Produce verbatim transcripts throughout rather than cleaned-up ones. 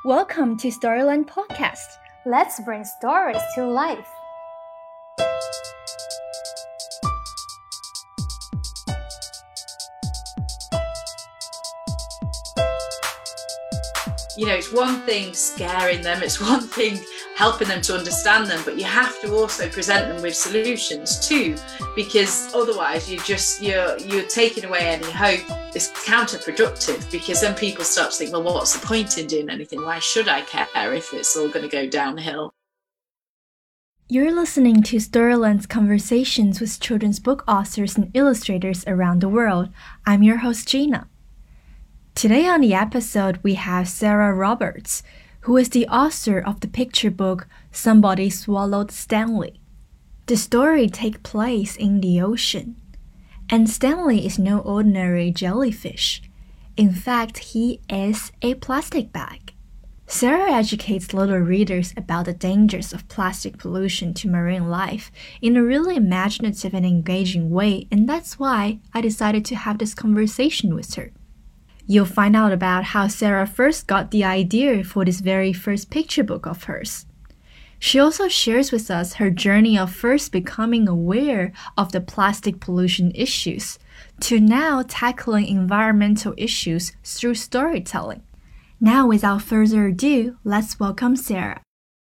Welcome to Storyland Podcast. Let's bring stories to life. You know, it's one thing scaring them, it's one thing helping them to understand them, but you have to also present them with solutions too, because otherwise you just you're you're taking away any hope. It's counterproductive, because then people start to think, well, what's the point in doing anything? Why should I care if it's all going to go downhill? You're listening to Storyland's conversations with children's book authors and illustrators around the world. I'm your host, Gina. Today on the episode, we have Sarah Roberts, who is the author of the picture book Somebody Swallowed Stanley. The story takes place in the ocean, and Stanley is no ordinary jellyfish. In fact, he is a plastic bag. Sarah educates little readers about the dangers of plastic pollution to marine life in a really imaginative and engaging way, and that's why I decided to have this conversation with her. You'll find out about how Sarah first got the idea for this very first picture book of hers. She also shares with us her journey of first becoming aware of the plastic pollution issues to now tackling environmental issues through storytelling. Now, without further ado, let's welcome Sarah.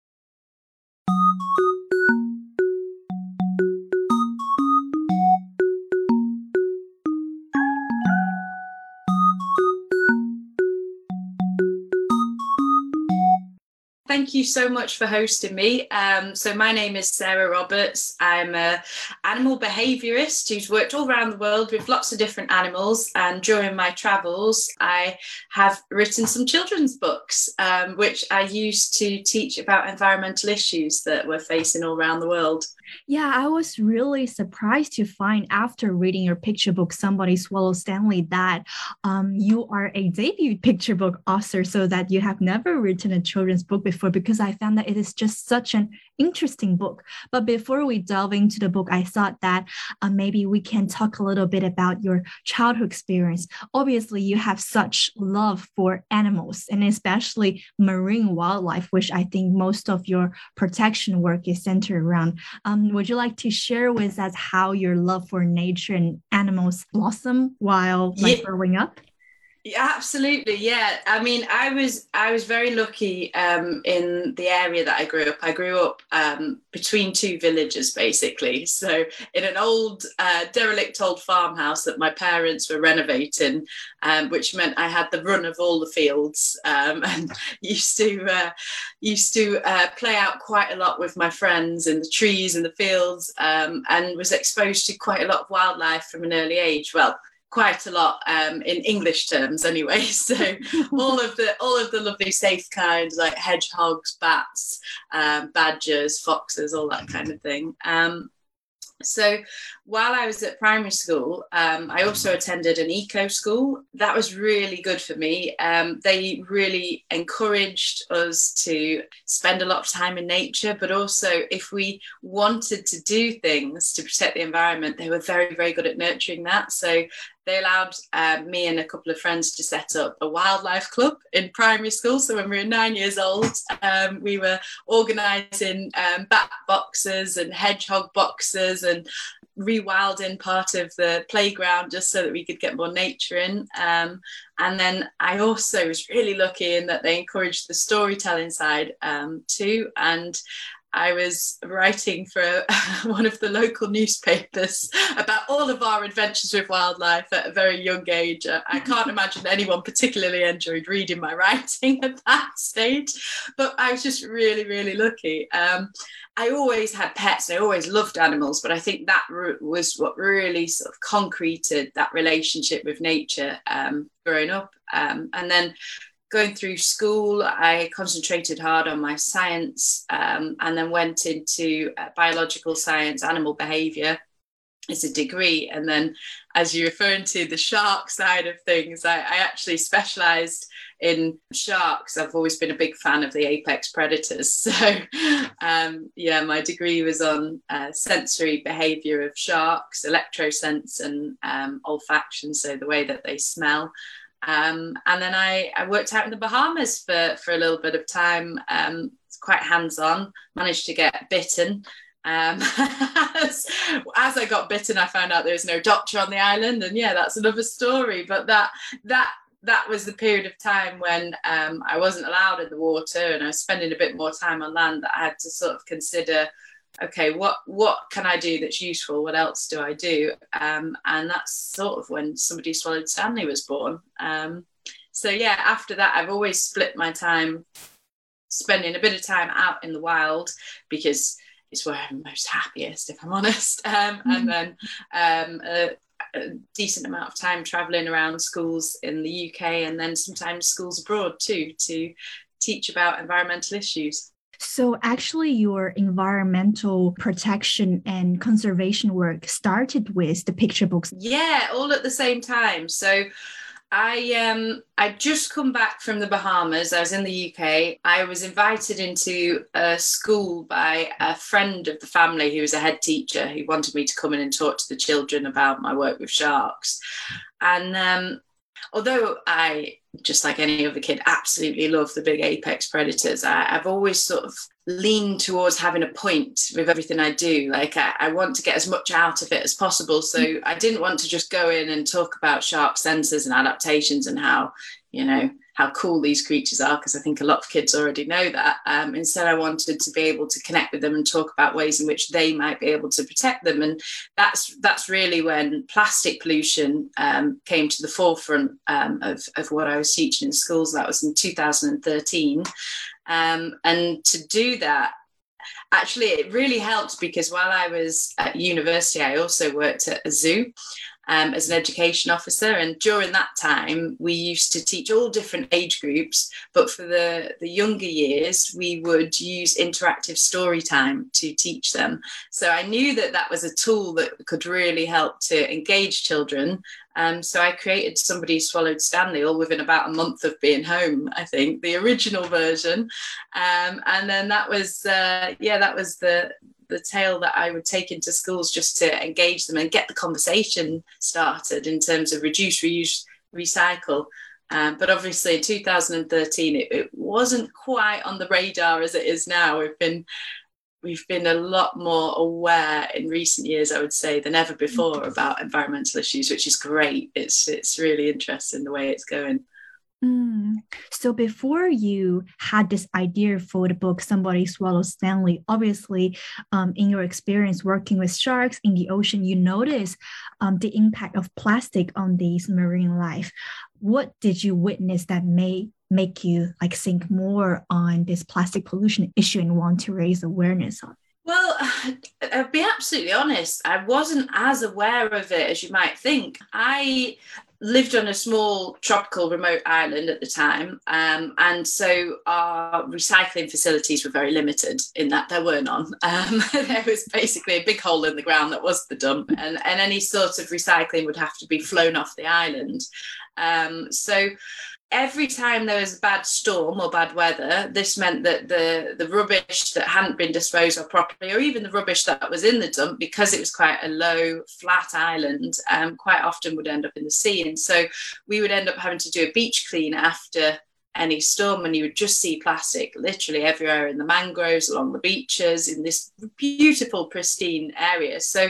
Thank you so much for hosting me. Um, so my name is Sarah Roberts. I'm an animal behaviourist who's worked all around the world with lots of different animals. And during my travels, I have written some children's books, um, which I use to teach about environmental issues that we're facing all around the world. Yeah, I was really surprised to find after reading your picture book, Somebody Swallowed Stanley, that um, you are a debut picture book author, so that you have never written a children's book before, because I found that it is just such an interesting book. But before we delve into the book, I thought that uh, maybe we can talk a little bit about your childhood experience. Obviously, you have such love for animals, and especially marine wildlife, which I think most of your protection work is centered around. Um, would you like to share with us how your love for nature and animals blossom while like yeah. growing up? Yeah, absolutely. Yeah. I mean, I was I was very lucky um, in the area that I grew up. I grew up um, between two villages, basically. So in an old, uh, derelict old farmhouse that my parents were renovating, um, which meant I had the run of all the fields um, and used to uh, used to uh, play out quite a lot with my friends in the trees and the fields, um, and was exposed to quite a lot of wildlife from an early age. Well, quite a lot um, in English terms anyway. So all of the all of the lovely safe kinds like hedgehogs, bats, um, badgers, foxes, all that kind of thing. Um, so while I was at primary school, um, I also attended an eco school. That was really good for me. Um, they really encouraged us to spend a lot of time in nature, but also if we wanted to do things to protect the environment, they were very, very good at nurturing that. So they allowed uh, me and a couple of friends to set up a wildlife club in primary school. So when we were nine years old, um, we were organising um, bat boxes and hedgehog boxes and rewilding part of the playground just so that we could get more nature in. Um, and then I also was really lucky in that they encouraged the storytelling side um, too. And I was writing for one of the local newspapers about all of our adventures with wildlife at a very young age. I can't imagine anyone particularly enjoyed reading my writing at that stage, but I was just really, really lucky. Um, I always had pets. I always loved animals, but I think that was what really sort of concreted that relationship with nature um, growing up. Um, and then going through school, I concentrated hard on my science um, and then went into uh, biological science, animal behaviour as a degree. And then, as you're referring to the shark side of things, I, I actually specialised in sharks. I've always been a big fan of the apex predators. So, um, yeah, my degree was on uh, sensory behaviour of sharks, electrosense and um, olfaction, so the way that they smell. Um, and then I, I worked out in the Bahamas for, for a little bit of time. Um, it's quite hands-on, managed to get bitten. Um, as, as I got bitten, I found out there was no doctor on the island, and yeah, that's another story. But that that that was the period of time when um, I wasn't allowed in the water, and I was spending a bit more time on land, that I had to sort of consider, okay, what what can I do that's useful? What else do I do? Um, and that's sort of when Somebody Swallowed Stanley was born. Um, so yeah, after that, I've always split my time, spending a bit of time out in the wild, because it's where I'm most happiest, if I'm honest. Um, mm-hmm. And then um, a, a decent amount of time traveling around schools in the U K, and then sometimes schools abroad too, to teach about environmental issues. So actually your environmental protection and conservation work started with the picture books. Yeah, all at the same time. So I um I just come back from the Bahamas. I was in the U K. I was invited into a school by a friend of the family who was a head teacher, who wanted me to come in and talk to the children about my work with sharks. And um, although I, just like any other kid, absolutely love the big apex predators, I, I've always sort of leaned towards having a point with everything I do. Like I, I want to get as much out of it as possible. So I didn't want to just go in and talk about shark sensors and adaptations and how, you know, how cool these creatures are, because I think a lot of kids already know that. Um, instead, I wanted to be able to connect with them and talk about ways in which they might be able to protect them. And that's that's really when plastic pollution um, came to the forefront um, of, of what I was teaching in schools. That was in two thousand thirteen. Um, and to do that, actually, it really helped, because while I was at university, I also worked at a zoo um, as an education officer. And during that time, we used to teach all different age groups. But for the, the younger years, we would use interactive story time to teach them. So I knew that that was a tool that could really help to engage children. Um, so I created Somebody Swallowed Stanley, all within about a month of being home, I think, the original version. Um, and then that was, uh, yeah, that was the the tale that I would take into schools, just to engage them and get the conversation started in terms of reduce, reuse, recycle. Um, but obviously in two thousand thirteen, it, it wasn't quite on the radar as it is now. We've been We've been a lot more aware in recent years, I would say, than ever before about environmental issues, which is great. It's it's really interesting the way it's going. Mm. So before you had this idea for the book, Somebody Swallowed Stanley, obviously, um, in your experience working with sharks in the ocean, you notice um, the impact of plastic on these marine life. What did you witness that may make you like think more on this plastic pollution issue and want to raise awareness on it? Well, I'll be absolutely honest, I wasn't as aware of it as you might think. I lived on a small tropical remote island at the time, um, and so our recycling facilities were very limited in that there were none. Um, there was basically a big hole in the ground that was the dump, and, and any sort of recycling would have to be flown off the island. Um, so every time there was a bad storm or bad weather, this meant that the, the rubbish that hadn't been disposed of properly, or even the rubbish that was in the dump, because it was quite a low, flat island, um, quite often would end up in the sea. And so we would end up having to do a beach clean after any storm, and you would just see plastic literally everywhere in the mangroves, along the beaches, in this beautiful, pristine area. So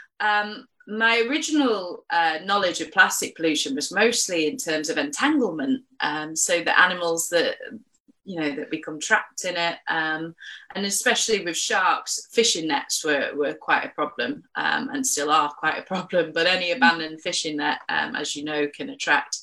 um, my original uh, knowledge of plastic pollution was mostly in terms of entanglement. Um, so the animals that, you know, that become trapped in it, um, and especially with sharks, fishing nets were, were quite a problem, um, and still are quite a problem. But any abandoned fishing net, um, as you know, can attract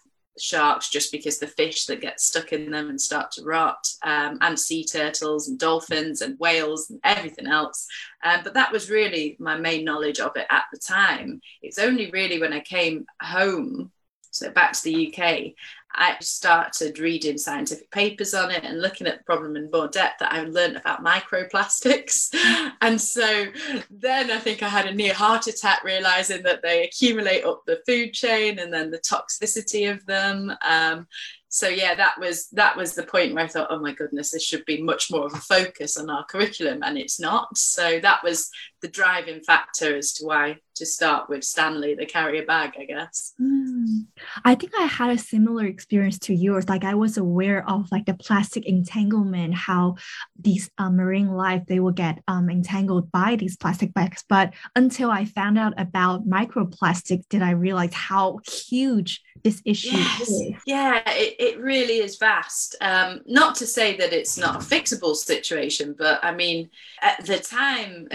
sharks just because the fish that get stuck in them and start to rot, um, and sea turtles and dolphins and whales and everything else. Um, but that was really my main knowledge of it at the time. It's only really when I came home, so back to the U K, I started reading scientific papers on it and looking at the problem in more depth, that I learned about microplastics. And so then I think I had a near heart attack, realizing that they accumulate up the food chain, and then the toxicity of them. Um, so yeah, that was that was the point where I thought, oh my goodness, this should be much more of a focus on our curriculum, and it's not. So that was the driving factor as to why to start with Stanley, the carrier bag, I guess. Mm. I think I had a similar experience to yours. Like I was aware of like the plastic entanglement, how these uh, marine life, they will get um, entangled by these plastic bags. But until I found out about microplastic, did I realize how huge this issue yes. is. Yeah, it, it really is vast. Um, not to say that it's not a fixable situation, but I mean, at the time,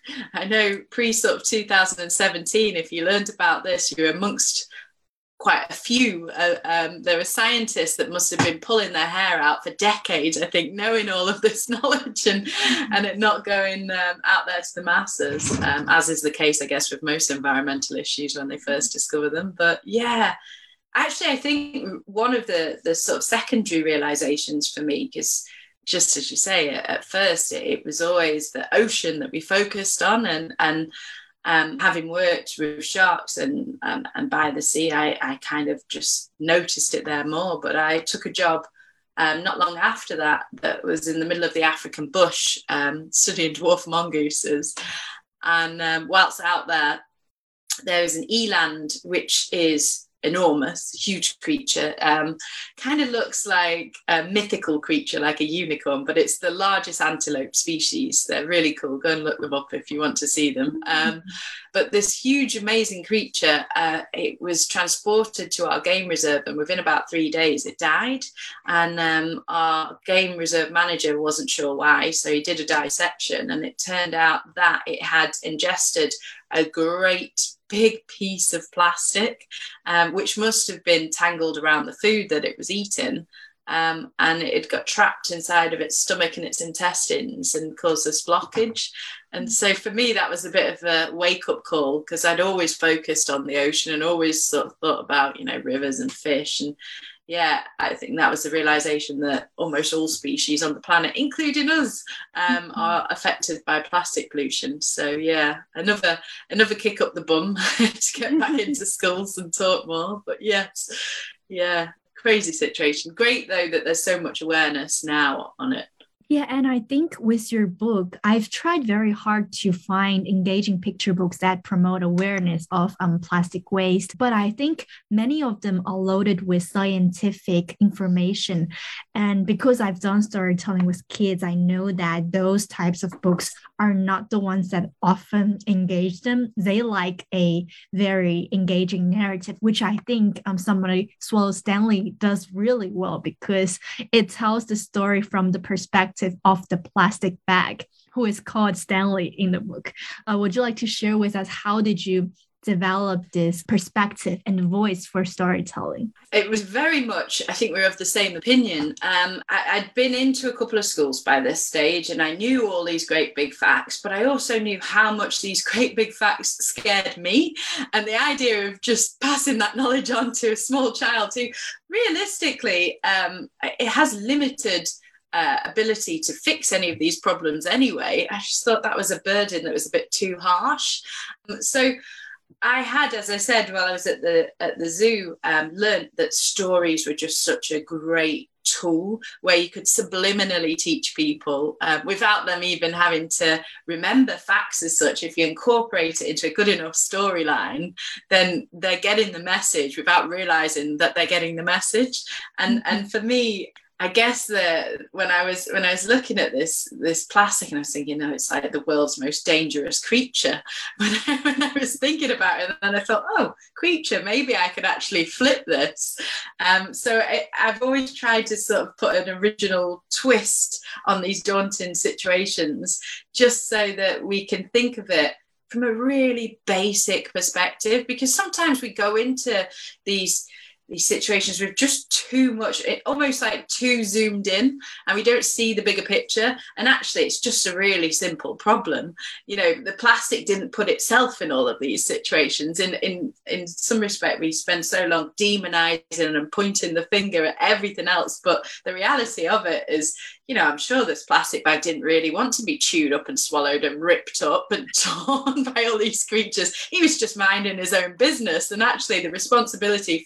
I know pre sort of two thousand seventeen, if you learned about this, you were amongst quite a few. Uh, um, there were scientists that must have been pulling their hair out for decades, I think, knowing all of this knowledge and, and it not going um, out there to the masses, um, as is the case, I guess, with most environmental issues when they first discover them. But yeah, actually, I think one of the, the sort of secondary realizations for me, because just as you say, at first it, it was always the ocean that we focused on, and and um, having worked with sharks and um, and by the sea, I, I kind of just noticed it there more. But I took a job um, not long after that that was in the middle of the African bush, um, studying dwarf mongooses, and um, whilst out there, there is an eland, which is enormous, huge creature, um, kind of looks like a mythical creature, like a unicorn, but it's the largest antelope species. They're really cool. Go and look them up if you want to see them. Um, but this huge, amazing creature, uh, it was transported to our game reserve, and within about three days it died. And um, our game reserve manager wasn't sure why, so he did a dissection, and it turned out that it had ingested a great big piece of plastic, um, which must have been tangled around the food that it was eating. Um, and it got trapped inside of its stomach and its intestines and caused this blockage. And so for me, that was a bit of a wake-up call, because I'd always focused on the ocean and always sort of thought about, you know, rivers and fish. And yeah, I think that was the realization that almost all species on the planet, including us, um, are affected by plastic pollution. So yeah, another another kick up the bum to get back into schools and talk more. But yes, yeah, crazy situation. Great though that there's so much awareness now on it. Yeah, and I think with your book, I've tried very hard to find engaging picture books that promote awareness of um, plastic waste, but I think many of them are loaded with scientific information. And because I've done storytelling with kids, I know that those types of books are not the ones that often engage them. They like a very engaging narrative, which I think um, somebody, Swallow Stanley, does really well, because it tells the story from the perspective of the plastic bag, who is called Stanley in the book. Uh, would you like to share with us, how did you develop this perspective and voice for storytelling? It was very much, I think we were of the same opinion. Um, I, I'd been into a couple of schools by this stage, and I knew all these great big facts, but I also knew how much these great big facts scared me. And the idea of just passing that knowledge on to a small child who realistically, um, it has limited Uh, ability to fix any of these problems anyway. I just thought that was a burden that was a bit too harsh. Um, so I had, as I said, while I was at the at the zoo, um, learned that stories were just such a great tool where you could subliminally teach people uh, without them even having to remember facts as such. If you incorporate it into a good enough storyline, then they're getting the message without realizing that they're getting the message. And mm-hmm. and for me, I guess that when I was when I was looking at this this plastic, and I was thinking, no, it's like the world's most dangerous creature. When I, when I was thinking about it, and then I thought, oh, creature, maybe I could actually flip this. Um, so I, I've always tried to sort of put an original twist on these daunting situations, just so that we can think of it from a really basic perspective. Because sometimes we go into these. these situations with just too much, it, almost like too zoomed in, and we don't see the bigger picture. And actually, it's just a really simple problem. You know, the plastic didn't put itself in all of these situations. In in in some respect, we spend so long demonizing and pointing the finger at everything else. But the reality of it is, you know, I'm sure this plastic bag didn't really want to be chewed up and swallowed and ripped up and torn by all these creatures. He was just minding his own business, and actually the responsibility fell on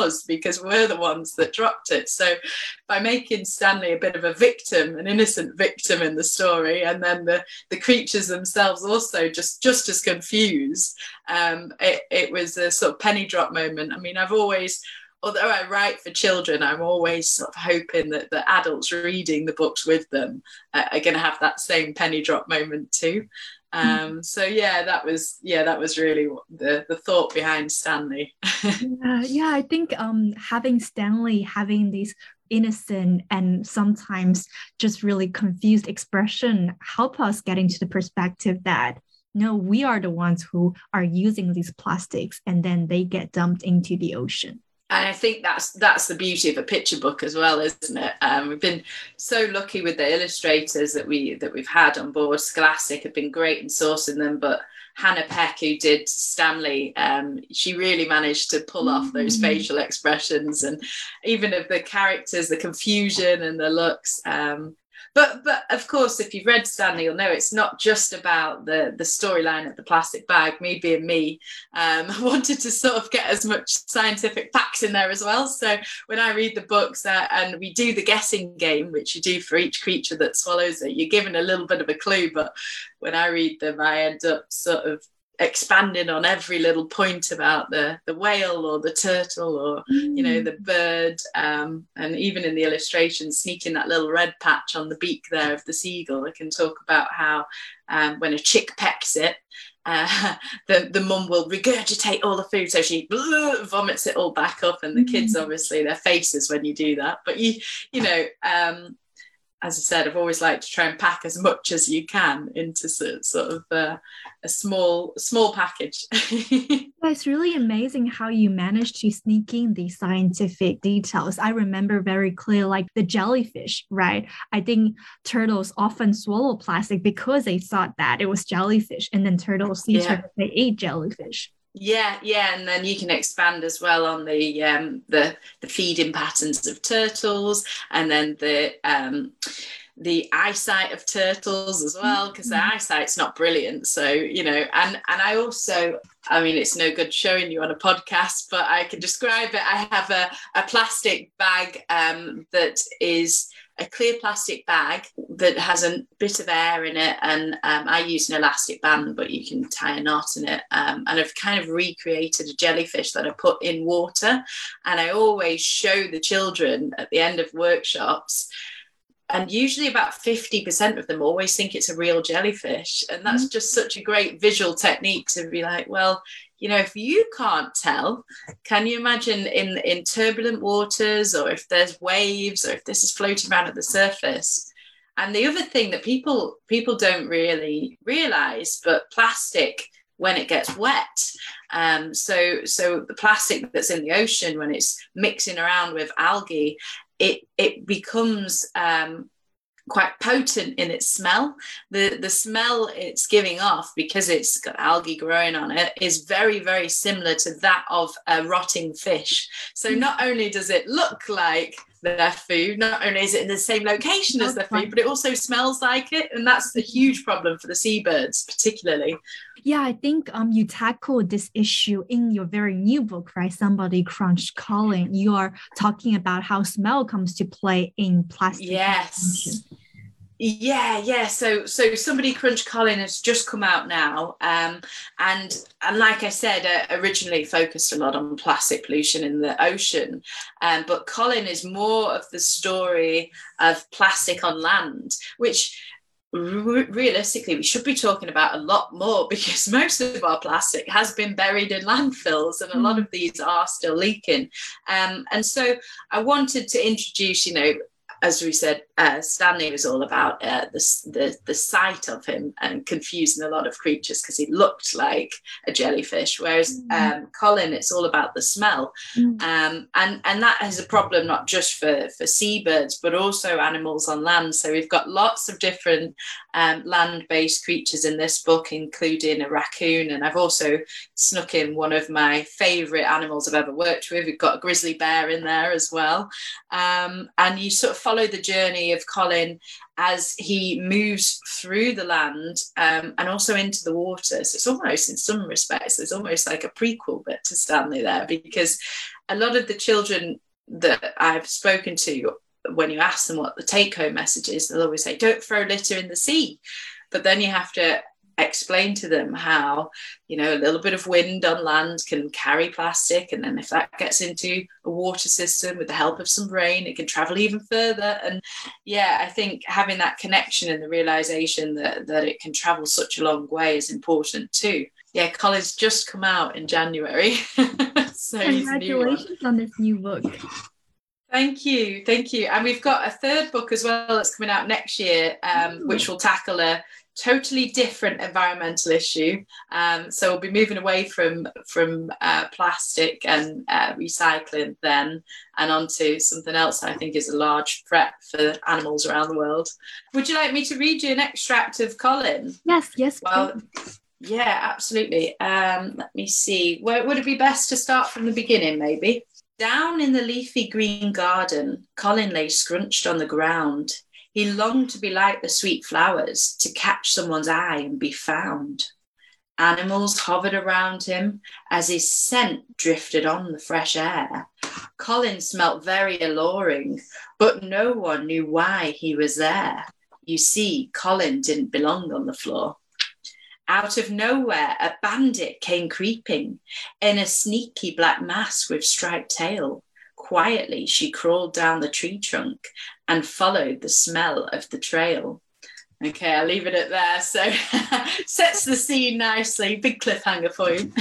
us because we're the ones that dropped it. So by making Stanley a bit of a victim, an innocent victim in the story, and then the, the creatures themselves also just, just as confused, um, it, it was a sort of penny drop moment. I mean, I've always, although I write for children, I'm always sort of hoping that the adults reading the books with them uh, are going to have that same penny drop moment too. Um, so yeah, that was yeah, that was really the the thought behind Stanley. yeah, yeah, I think um, having Stanley having these innocent and sometimes just really confused expression help us get into the perspective that no, we are the ones who are using these plastics and then they get dumped into the ocean. And I think that's that's the beauty of a picture book as well, isn't it? Um, we've been so lucky with the illustrators that we that we've had on board. Scholastic have been great in sourcing them, but Hannah Peck, who did Stanley, um, she really managed to pull off those mm-hmm. facial expressions and even of the characters, the confusion and the looks. Um, But but of course, if you've read Stanley, you'll know it's not just about the, the storyline of the plastic bag. Me being me, um, I wanted to sort of get as much scientific facts in there as well. So when I read the books uh, and we do the guessing game, which you do for each creature that swallows it, you're given a little bit of a clue. But when I read them, I end up sort of expanding on every little point about the the whale or the turtle or mm. you know the bird, um, and even in the illustration, sneaking that little red patch on the beak there of the seagull. I can talk about how um, when a chick pecks it, uh, the the mum will regurgitate all the food, so she blah, vomits it all back up, and the mm. kids obviously their faces when you do that. But you you know. Um, As I said, I've always liked to try and pack as much as you can into sort, sort of uh, a small small package. It's really amazing how you managed to sneak in these scientific details. I remember very clear, like the jellyfish, right? I think turtles often swallow plastic because they thought that it was jellyfish, and then turtles see yeah. turtles, they ate jellyfish. Yeah, yeah, and then you can expand as well on the um, the the feeding patterns of turtles, and then the um, the eyesight of turtles as well, because their eyesight's not brilliant. So you know, and and I also, I mean, it's no good showing you on a podcast, but I can describe it. I have a a plastic bag um, that is a clear plastic bag that has a bit of air in it, and um, I use an elastic band, but you can tie a knot in it, um, and I've kind of recreated a jellyfish that I put in water, and I always show the children at the end of workshops, and usually about fifty percent of them always think it's a real jellyfish, and that's mm-hmm. just such a great visual technique to be like, well, you know, if you can't tell, can you imagine in, in turbulent waters, or if there's waves, or if this is floating around at the surface? And the other thing that people people don't really realize, but plastic, when it gets wet, um, so so the plastic that's in the ocean, when it's mixing around with algae, it it becomes um, quite potent in its smell. The the smell it's giving off, because it's got algae growing on it, is very, very similar to that of a rotting fish. So not only does it look like their food, not only is it in the same location as their food, but it also smells like it. And that's a huge problem for the seabirds, particularly. Yeah, I think um you tackled this issue in your very new book, right? Somebody Crunched Colin. You are talking about how smell comes to play in plastic. Yes. Yeah, yeah. So, so Somebody Crunched Colin has just come out now, um, and and like I said, uh, originally focused a lot on plastic pollution in the ocean, um, but Colin is more of the story of plastic on land, which re- realistically we should be talking about a lot more, because most of our plastic has been buried in landfills, and a lot of these are still leaking. Um, and so I wanted to introduce, you know, as we said, uh, Stanley was all about uh, the, the the sight of him and confusing a lot of creatures because he looked like a jellyfish, whereas mm. um, Colin, it's all about the smell. Mm. Um, and, and that is a problem not just for, for seabirds, but also animals on land. So we've got lots of different um, land-based creatures in this book, including a raccoon. And I've also snuck in one of my favourite animals I've ever worked with. We've got a grizzly bear in there as well. Um, and you sort of follow the journey journey of Colin as he moves through the land um, and also into the water. So it's almost, in some respects, there's almost like a prequel bit to Stanley there, because a lot of the children that I've spoken to, when you ask them what the take-home message is, they'll always say, don't throw litter in the sea. But then you have to explain to them how, you know, a little bit of wind on land can carry plastic, and then if that gets into a water system with the help of some rain, it can travel even further. And yeah, I think having that connection and the realization that that it can travel such a long way is important too. Yeah, Colin's just come out in January. So congratulations on this new book. Thank you, thank you. And we've got a third book as well that's coming out next year, um, which will tackle a totally different environmental issue. Um, so we'll be moving away from from uh, plastic and uh, recycling then, and onto something else I think is a large threat for animals around the world. Would you like me to read you an extract of Colin? Yes, yes. Well, please. Yeah, absolutely. Um, let me see. Where would it be best to start from the beginning, maybe? Down in the leafy green garden, Colin lay scrunched on the ground. He longed to be like the sweet flowers, to catch someone's eye and be found. Animals hovered around him as his scent drifted on the fresh air. Colin smelt very alluring, but no one knew why he was there. You see, Colin didn't belong on the floor. Out of nowhere, a bandit came creeping in a sneaky black mask with striped tail. Quietly, she crawled down the tree trunk and followed the smell of the trail. Okay, I'll leave it at there. So sets the scene nicely. Big cliffhanger for you.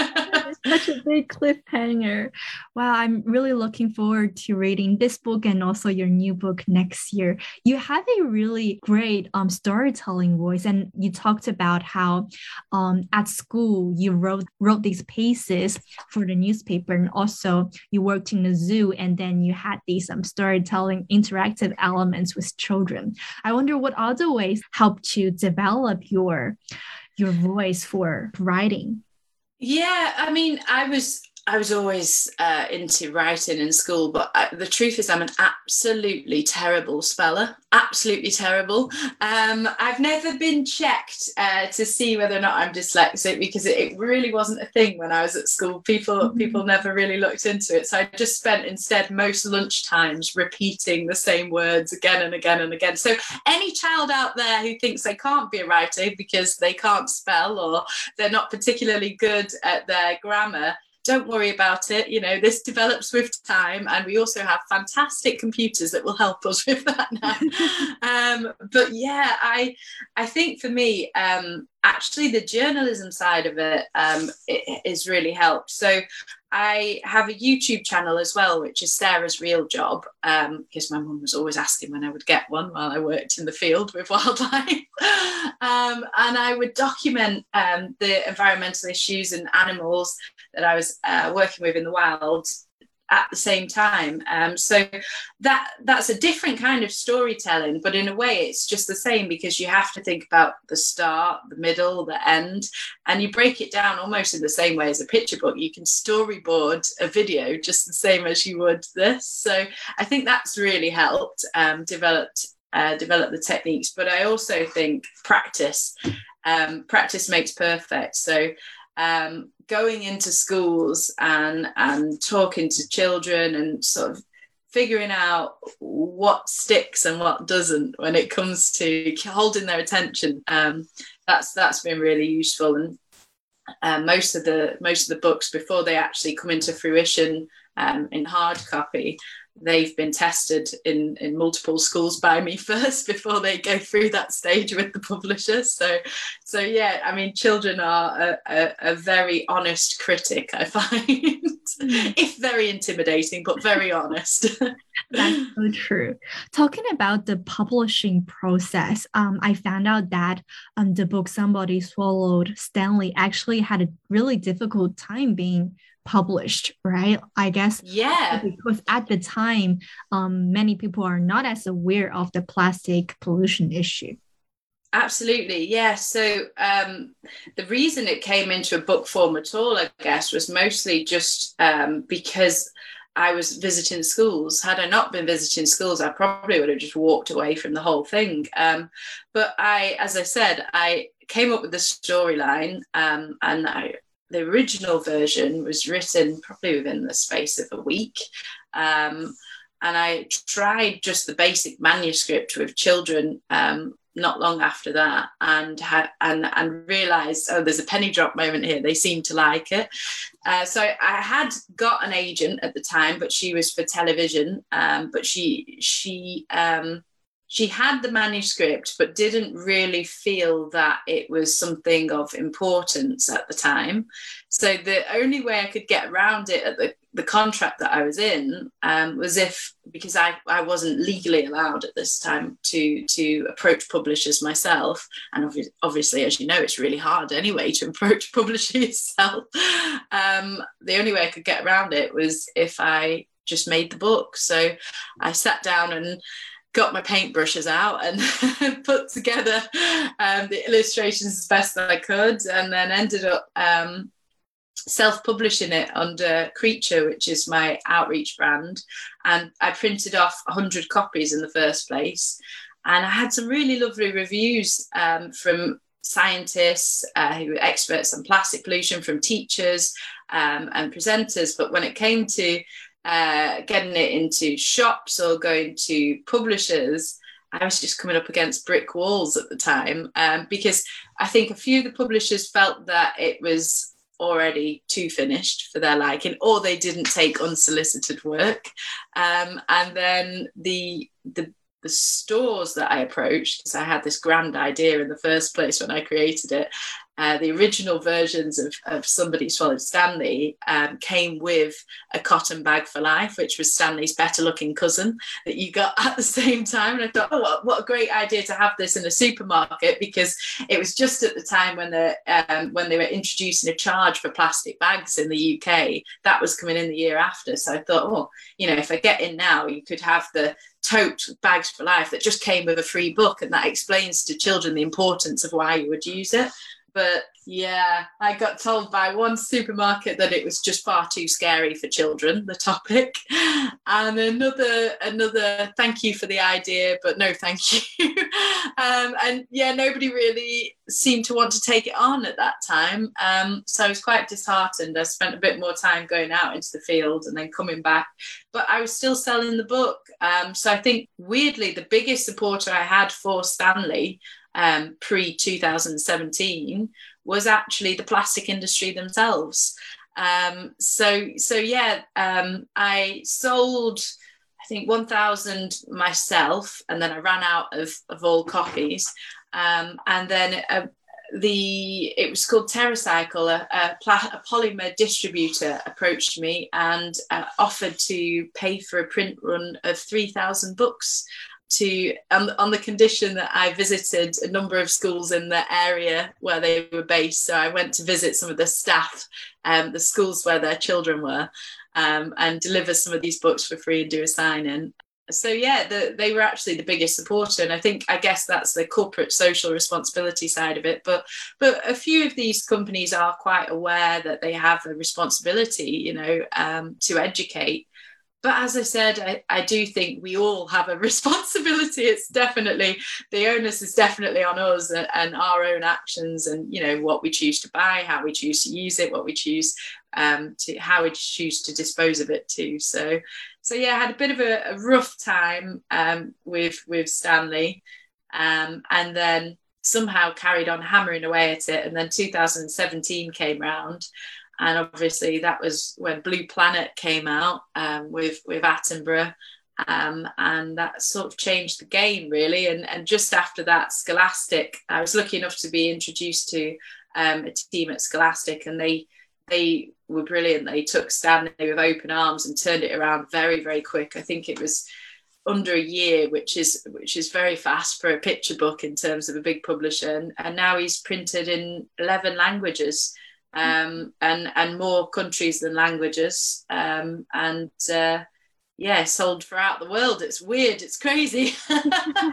Such a big cliffhanger. Wow, I'm really looking forward to reading this book and also your new book next year. You have a really great um, storytelling voice, and you talked about how um, at school you wrote wrote these pieces for the newspaper, and also you worked in the zoo, and then you had these um, storytelling interactive elements with children. I wonder what other ways helped you develop your your voice for writing. Yeah, I mean, I was I was always uh, into writing in school, but I, the truth is I'm an absolutely terrible speller, absolutely terrible. Um, I've never been checked uh, to see whether or not I'm dyslexic, because it, it really wasn't a thing when I was at school. People mm-hmm. people never really looked into it. So I just spent instead most lunch times repeating the same words again and again and again. So any child out there who thinks they can't be a writer because they can't spell or they're not particularly good at their grammar, don't worry about it. You know, this develops with time, and we also have fantastic computers that will help us with that now. um, but yeah, I I think for me, um, actually the journalism side of it, um, it is really helped. So I have a YouTube channel as well, which is Sarah's Real Job, um, because my mum was always asking when I would get one while I worked in the field with wildlife. um, and I would document um, the environmental issues and animals that I was uh, working with in the wild at the same time. Um, so that that's a different kind of storytelling, but in a way it's just the same, because you have to think about the start, the middle, the end, and you break it down almost in the same way as a picture book. You can storyboard a video just the same as you would this. So I think that's really helped um, developed uh, develop the techniques. But I also think practice, um, practice makes perfect. So um, going into schools and and talking to children and sort of figuring out what sticks and what doesn't when it comes to holding their attention, um, that's that's been really useful. And uh, most of the most of the books, before they actually come into fruition um, in hard copy, they've been tested in, in multiple schools by me first before they go through that stage with the publisher. So, so yeah, I mean, children are a, a, a very honest critic, I find. If very intimidating, but very honest. That's so true. Talking about the publishing process, um, I found out that um, the book Somebody Swallowed Stanley actually had a really difficult time being published, right? I guess yeah, because at the time um many people are not as aware of the plastic pollution issue. Absolutely, yeah. So um the reason it came into a book form at all, I guess, was mostly just um because I was visiting schools. Had I not been visiting schools, I probably would have just walked away from the whole thing. Um, but I, as I said, I came up with the storyline, um, and I, the original version was written probably within the space of a week. Um, and I tried just the basic manuscript with children um, not long after that, and had and and realized, oh, there's a penny drop moment here. They seem to like it. Uh, so I had got an agent at the time, but she was for television. Um, but she she um, she had the manuscript, but didn't really feel that it was something of importance at the time. So the only way I could get around it at the, the contract that I was in um, was if, because I, I wasn't legally allowed at this time to, to approach publishers myself. And obviously, obviously, as you know, it's really hard anyway to approach publishers yourself. Um, the only way I could get around it was if I just made the book. So I sat down and got my paintbrushes out and put together um, the illustrations as best that I could, and then ended up um, self-publishing it under Creature, which is my outreach brand. And I printed off one hundred copies in the first place. And I had some really lovely reviews um, from scientists uh, who were experts on plastic pollution, from teachers um, and presenters. But when it came to Uh, getting it into shops or going to publishers, I was just coming up against brick walls at the time, um, because I think a few of the publishers felt that it was already too finished for their liking, or they didn't take unsolicited work. Um, and then the, the the stores that I approached, because I had this grand idea in the first place when I created it, Uh, the original versions of, of Somebody Swallowed Stanley um, came with a cotton bag for life, which was Stanley's better looking cousin that you got at the same time. And I thought, oh, what, what a great idea to have this in a supermarket, because it was just at the time when, the, um, when they were introducing a charge for plastic bags in the U K. That was coming in the year after. So I thought, oh, you know, if I get in now, you could have the tote Bags for Life that just came with a free book, and that explains to children the importance of why you would use it. But yeah, I got told by one supermarket that it was just far too scary for children, the topic. And another, another thank you for the idea, but no thank you. um, and yeah, nobody really seemed to want to take it on at that time. Um, so I was quite disheartened. I spent a bit more time going out into the field and then coming back. But I was still selling the book. Um, so I think, weirdly, the biggest supporter I had for Stanley Um, pre two thousand seventeen was actually the plastic industry themselves. Um, so, so yeah, um, I sold, I think, one thousand myself, and then I ran out of, of all copies. Um, and then uh, the it was called TerraCycle, a, a, pla- a polymer distributor approached me and uh, offered to pay for a print run of three thousand books, to on, on the condition that I visited a number of schools in the area where they were based. So I went to visit some of the staff, um, the schools where their children were, um, and deliver some of these books for free and do a sign-in. So yeah, the, they were actually the biggest supporter, and I think I guess that's the corporate social responsibility side of it. But but a few of these companies are quite aware that they have a responsibility, you know, um, to educate. But as I said, I, I do think we all have a responsibility. It's definitely, the onus is definitely on us and, and our own actions, and, you know, what we choose to buy, how we choose to use it, what we choose um, to, how we choose to dispose of it too. So, so yeah, I had a bit of a, a rough time um, with, with Stanley, um, and then somehow carried on hammering away at it. And then two thousand seventeen came around. And obviously that was when Blue Planet came out um, with, with Attenborough. Um, and that sort of changed the game, really. And, and just after that, Scholastic, I was lucky enough to be introduced to um, a team at Scholastic, and they they were brilliant. They took Stanley with open arms and turned it around very, very quick. I think it was under a year, which is which is very fast for a picture book in terms of a big publisher. And, and now he's printed in eleven languages. Um, and and more countries than languages, um, and uh, yeah, sold throughout the world. It's weird, it's crazy,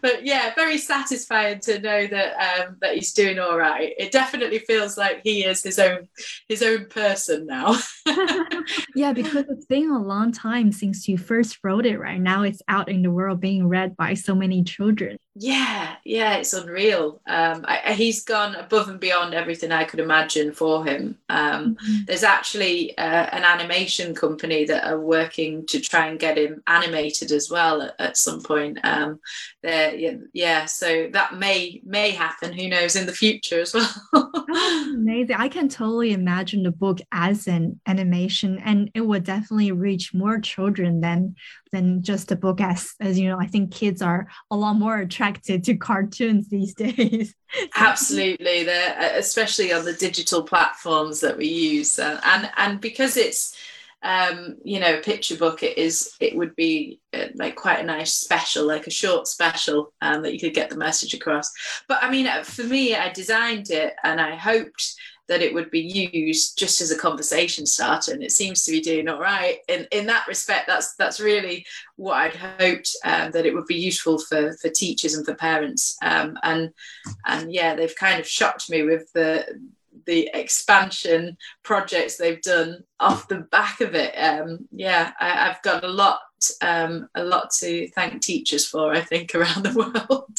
but yeah, very satisfying to know that um, that he's doing all right. It definitely feels like he is his own his own person now. Yeah, because it's been a long time since you first wrote it. Right now, it's out in the world being read by so many children. Yeah, yeah, it's unreal. Um, I, he's gone above and beyond everything I could imagine for him. Um, mm-hmm. There's actually uh, an animation company that are working to try and get him animated as well at, at some point. Um, yeah, yeah, so that may may happen. Who knows in the future as well. Oh, amazing! I can totally imagine the book as an animation, and it would definitely reach more children than than just a book. As as you know, I think kids are a lot more attracted to cartoons these days. Absolutely, they're especially on the digital platforms that we use, uh, and and because it's um, you know, a picture book, it is it would be uh, like quite a nice special, like a short special, um, that you could get the message across. But I mean, for me, I designed it and I hoped that it would be used just as a conversation starter, and it seems to be doing all right in in that respect. That's that's really what I'd hoped, um, that it would be useful for for teachers and for parents, um, and and yeah, they've kind of shocked me with the the expansion projects they've done off the back of it. Um, yeah, I, I've got a lot um, a lot to thank teachers for, I think, around the world.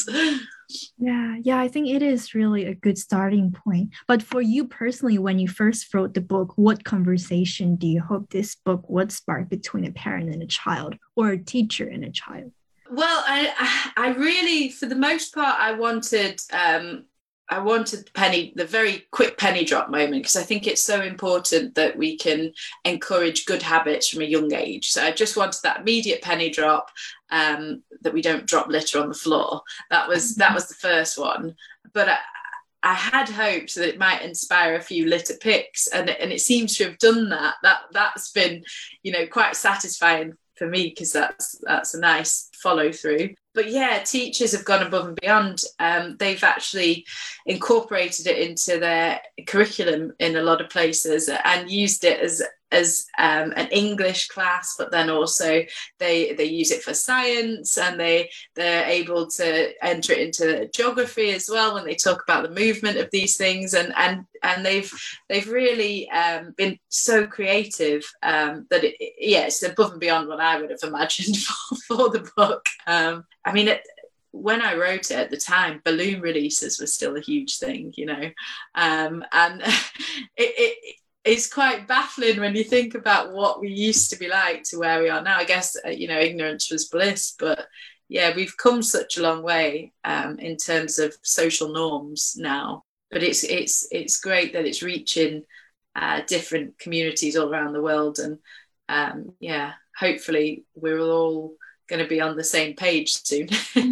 Yeah, yeah, I think it is really a good starting point. But for you personally, when you first wrote the book, what conversation do you hope this book would spark between a parent and a child, or a teacher and a child? Well, I, I really, for the most part, I wanted, um, I wanted the penny, the very quick penny drop moment, because I think it's so important that we can encourage good habits from a young age. So I just wanted that immediate penny drop, um, that we don't drop litter on the floor. That was that was the first one. But I, I had hoped that it might inspire a few litter picks, and and it seems to have done that. That that's been, you know, quite satisfying for me, because that's that's a nice follow through. But yeah, teachers have gone above and beyond. Um, they've actually incorporated it into their curriculum in a lot of places and used it as as um, an English class, but then also they they use it for science, and they they're able to enter it into geography as well when they talk about the movement of these things, and and and they've they've really um, been so creative, um, that it, yeah, it's above and beyond what I would have imagined for, for the book. Um, I mean, it, when I wrote it at the time, balloon releases were still a huge thing, you know, um, and it, it it's quite baffling when you think about what we used to be like to where we are now. I guess, you know, ignorance was bliss, but yeah, we've come such a long way, um, in terms of social norms now. But it's it's it's great that it's reaching uh, different communities all around the world, and um, yeah, hopefully we're all going to be on the same page soon.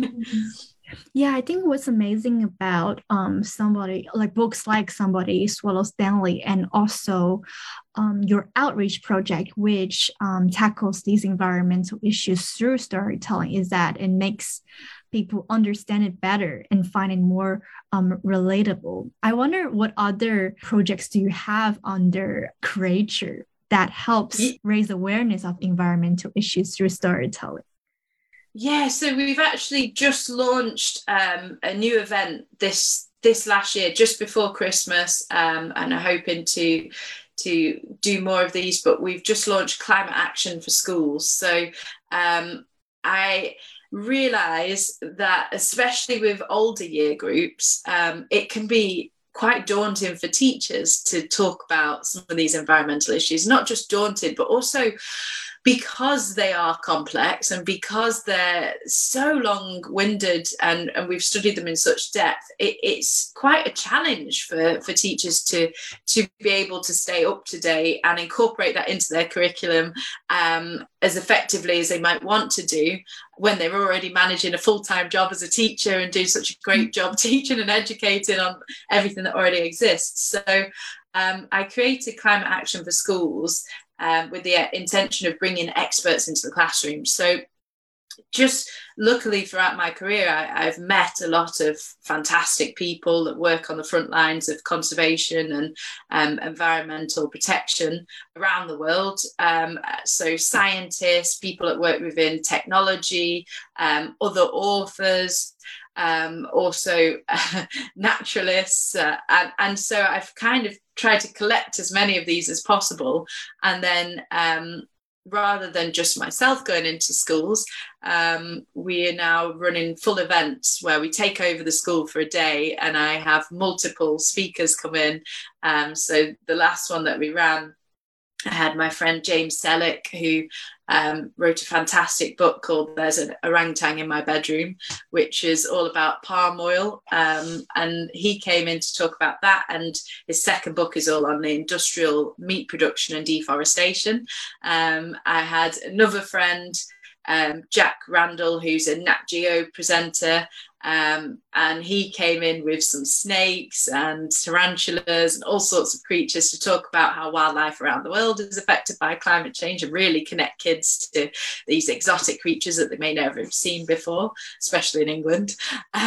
Yeah, I think what's amazing about um somebody like books like Somebody Swallows Stanley, and also um, your outreach project, which um, tackles these environmental issues through storytelling, is that it makes people understand it better and find it more um, relatable. I wonder, what other projects do you have under Creature that helps yeah. raise awareness of environmental issues through storytelling? Yeah, so we've actually just launched um, a new event this this last year, just before Christmas, um, and are hoping to to do more of these. But we've just launched Climate Action for Schools. So um, I realise that, especially with older year groups, um, it can be quite daunting for teachers to talk about some of these environmental issues. Not just daunted, but also because they are complex, and because they're so long-winded, and, and we've studied them in such depth, it, it's quite a challenge for, for teachers to, to be able to stay up to date and incorporate that into their curriculum um, as effectively as they might want to do when they're already managing a full-time job as a teacher and do such a great job teaching and educating on everything that already exists. So um, I created Climate Action for Schools, Um, with the intention of bringing experts into the classroom. So just luckily throughout my career, I, I've met a lot of fantastic people that work on the front lines of conservation and um, environmental protection around the world. Um, so scientists, people that work within technology, um, other authors, um, also uh, naturalists. Uh, and, and so I've kind of tried to collect as many of these as possible. And then um, rather than just myself going into schools, um, we are now running full events where we take over the school for a day, and I have multiple speakers come in. Um, so the last one that we ran, I had my friend James Selleck, who um, wrote a fantastic book called There's an Orangutan in My Bedroom, which is all about palm oil. Um, and he came in to talk about that. And his second book is all on the industrial meat production and deforestation. Um, I had another friend, um, Jack Randall, who's a Nat Geo presenter. Um, and he came in with some snakes and tarantulas and all sorts of creatures to talk about how wildlife around the world is affected by climate change and really connect kids to these exotic creatures that they may never have seen before, especially in England.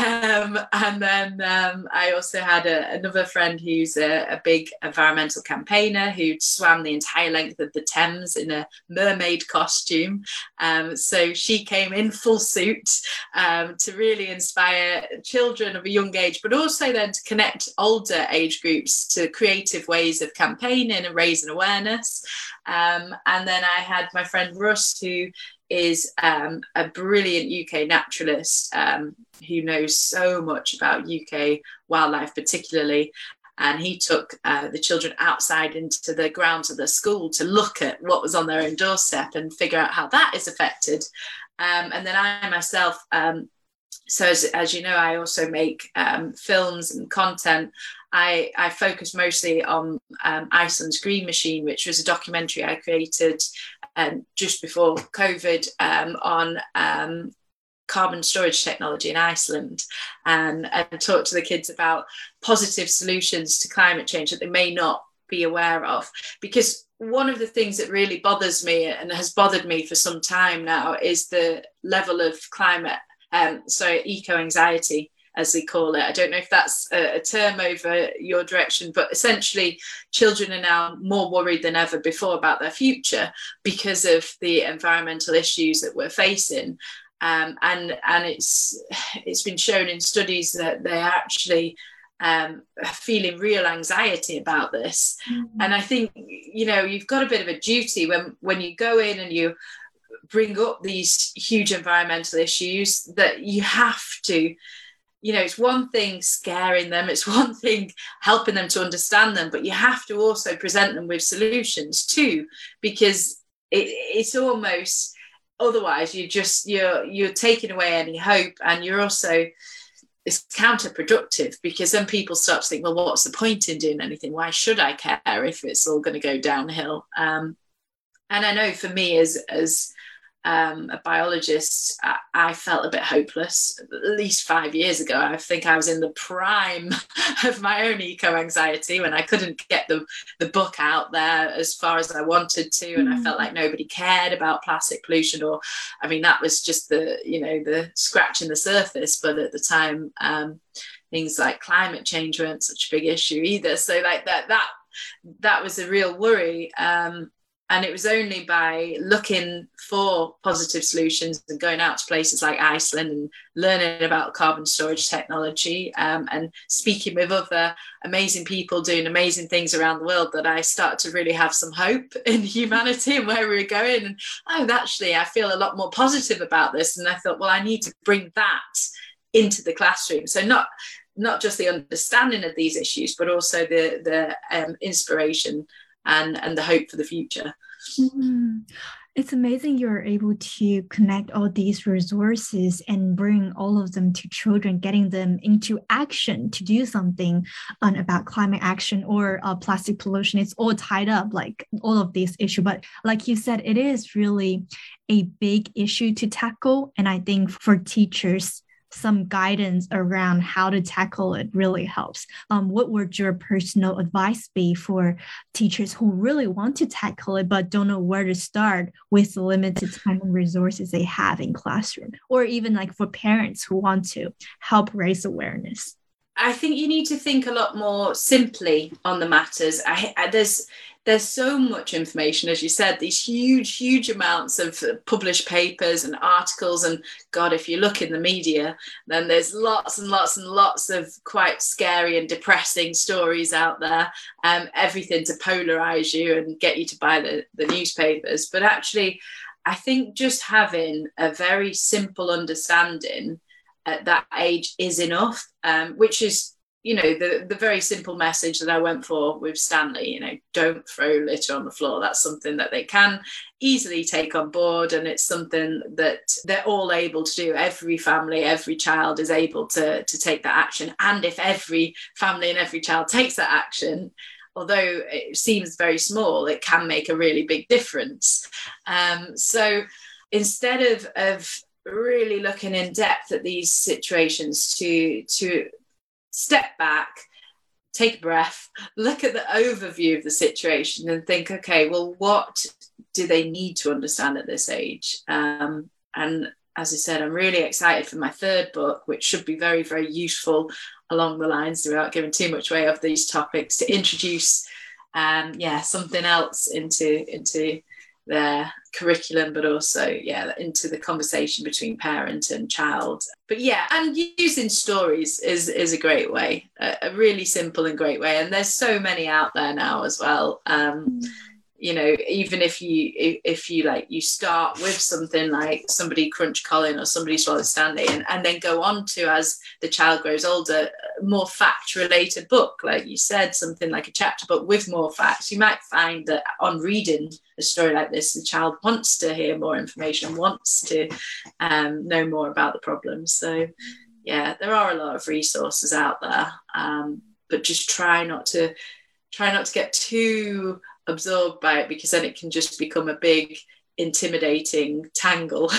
Um, and then um, I also had a, another friend who's a, a big environmental campaigner who swam the entire length of the Thames in a mermaid costume. Um, so she came in full suit um, to really inspire children of a young age, but also then to connect older age groups to creative ways of campaigning and raising awareness. Um, and then I had my friend Russ, who is um, a brilliant U K naturalist um, who knows so much about U K wildlife particularly. And he took uh, the children outside into the grounds of the school to look at what was on their own doorstep and figure out how that is affected. Um, and then I myself, um, So as, as you know, I also make um, films and content. I, I focus mostly on um, Iceland's Green Machine, which was a documentary I created um, just before COVID um, on um, carbon storage technology in Iceland, and, and talk to the kids about positive solutions to climate change that they may not be aware of. Because one of the things that really bothers me and has bothered me for some time now is the level of climate Um, so eco-anxiety, as they call it. I don't know if that's a, a term over your direction, but essentially children are now more worried than ever before about their future because of the environmental issues that we're facing. Um, and and it's it's been shown in studies that they're actually um, feeling real anxiety about this. Mm-hmm. And I think, you know, you've got a bit of a duty when, when you go in and you bring up these huge environmental issues, that you have to, you know, it's one thing scaring them, it's one thing helping them to understand them, but you have to also present them with solutions too, because it, it's almost, otherwise you just, you're, you're taking away any hope, and you're also, it's counterproductive, because then people start to think, well, what's the point in doing anything? Why should I care if it's all going to go downhill? Um, and I know for me as, as, Um, a biologist, I, I felt a bit hopeless at least five years ago. I think I was in the prime of my own eco-anxiety when I couldn't get the, the book out there as far as I wanted to, and mm. I felt like nobody cared about plastic pollution, or I mean that was just the, you know, the scratching the surface. But at the time, um, things like climate change weren't such a big issue either. So like that that that was a real worry. Um, And it was only by looking for positive solutions and going out to places like Iceland and learning about carbon storage technology um, and speaking with other amazing people doing amazing things around the world that I started to really have some hope in humanity and where we were going. And oh, actually, I feel a lot more positive about this. And I thought, well, I need to bring that into the classroom. So not not just the understanding of these issues, but also the, the um, inspiration and, and the hope for the future. Mm-hmm. It's amazing you're able to connect all these resources and bring all of them to children, getting them into action to do something um, about climate action or uh, plastic pollution. It's all tied up, like all of these issues. But like you said, it is really a big issue to tackle. And I think for teachers, some guidance around how to tackle it really helps. Um, what would your personal advice be for teachers who really want to tackle it but don't know where to start with the limited time and resources they have in classroom, or even like for parents who want to help raise awareness? I think you need to think a lot more simply on the matters. I, I, there's there's so much information, as you said, these huge, huge amounts of published papers and articles. And God, if you look in the media, then there's lots and lots and lots of quite scary and depressing stories out there. Um, everything to polarize you and get you to buy the, the newspapers. But actually, I think just having a very simple understanding at that age is enough, um, which is, you know, the, the very simple message that I went for with Stanley, you know, don't throw litter on the floor. That's something that they can easily take on board. And it's something that they're all able to do. Every family, every child is able to, to take that action. And if every family and every child takes that action, although it seems very small, it can make a really big difference. Um, so instead of, of really looking in depth at these situations, to, to step back, take a breath, look at the overview of the situation and think, okay, well, what do they need to understand at this age? Um, and as I said, I'm really excited for my third book, which should be very, very useful along the lines, without giving too much away of these topics, to introduce um, yeah, something else into, into their curriculum, but also, yeah, into the conversation between parent and child. But yeah, and using stories is is a great way, a, a really simple and great way. And there's so many out there now as well. Um, you know, even if you if, if you like you start with something like Somebody Crunched Colin or Somebody Swallowed Stanley, and, and then go on to, as the child grows older, a more fact related book, like you said, something like a chapter book with more facts, you might find that on reading a story like this, the child wants to hear more information, wants to um, know more about the problems. So yeah, there are a lot of resources out there, um, but just try not to try not to get too absorbed by it, because then it can just become a big intimidating tangle.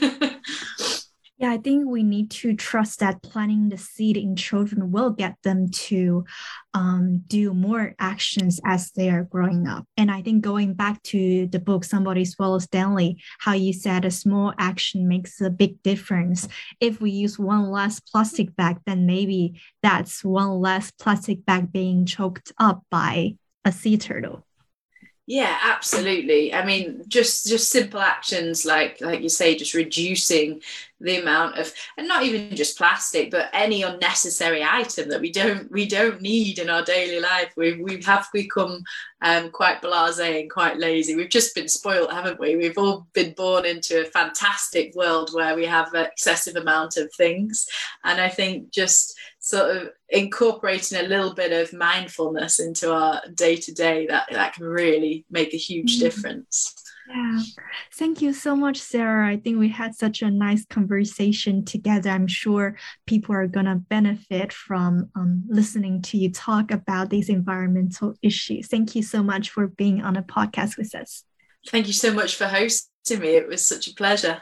Yeah, I think we need to trust that planting the seed in children will get them to um, do more actions as they are growing up. And I think going back to the book, Somebody Swallowed Stanley, how you said a small action makes a big difference. If we use one less plastic bag, then maybe that's one less plastic bag being choked up by a sea turtle. Yeah, absolutely. I mean, just just simple actions like like you say, just reducing the amount of, and not even just plastic, but any unnecessary item that we don't we don't need in our daily life. We we have become um, quite blasé and quite lazy. We've just been spoiled, haven't we? We've all been born into a fantastic world where we have an excessive amount of things, and I think just sort of incorporating a little bit of mindfulness into our day-to-day, that that can really make a huge difference. Yeah, thank you so much, Sarah. I think we had such a nice conversation together. I'm sure people are going to benefit from um, listening to you talk about these environmental issues. Thank you so much for being on a podcast with us. Thank you so much for hosting me. It was such a pleasure.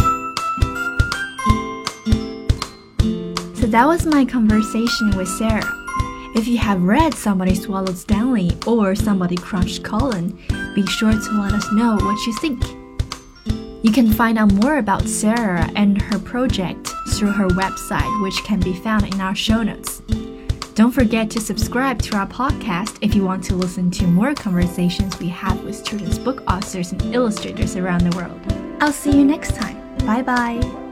So that was my conversation with Sarah. If you have read Somebody Swallowed Stanley or Somebody Crunched Colin, be sure to let us know what you think. You can find out more about Sarah and her project through her website, which can be found in our show notes. Don't forget to subscribe to our podcast if you want to listen to more conversations we have with children's book authors and illustrators around the world. I'll see you next time. Bye bye.